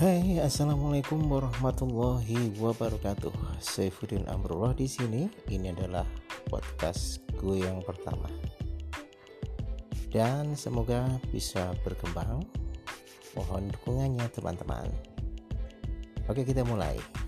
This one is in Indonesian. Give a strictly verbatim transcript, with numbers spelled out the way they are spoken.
Hai, assalamualaikum warahmatullahi wabarakatuh. Saifuddin Amrullah di sini. Ini adalah podcast gue yang pertama, dan semoga bisa berkembang. Mohon dukungannya teman-teman. Oke, kita mulai.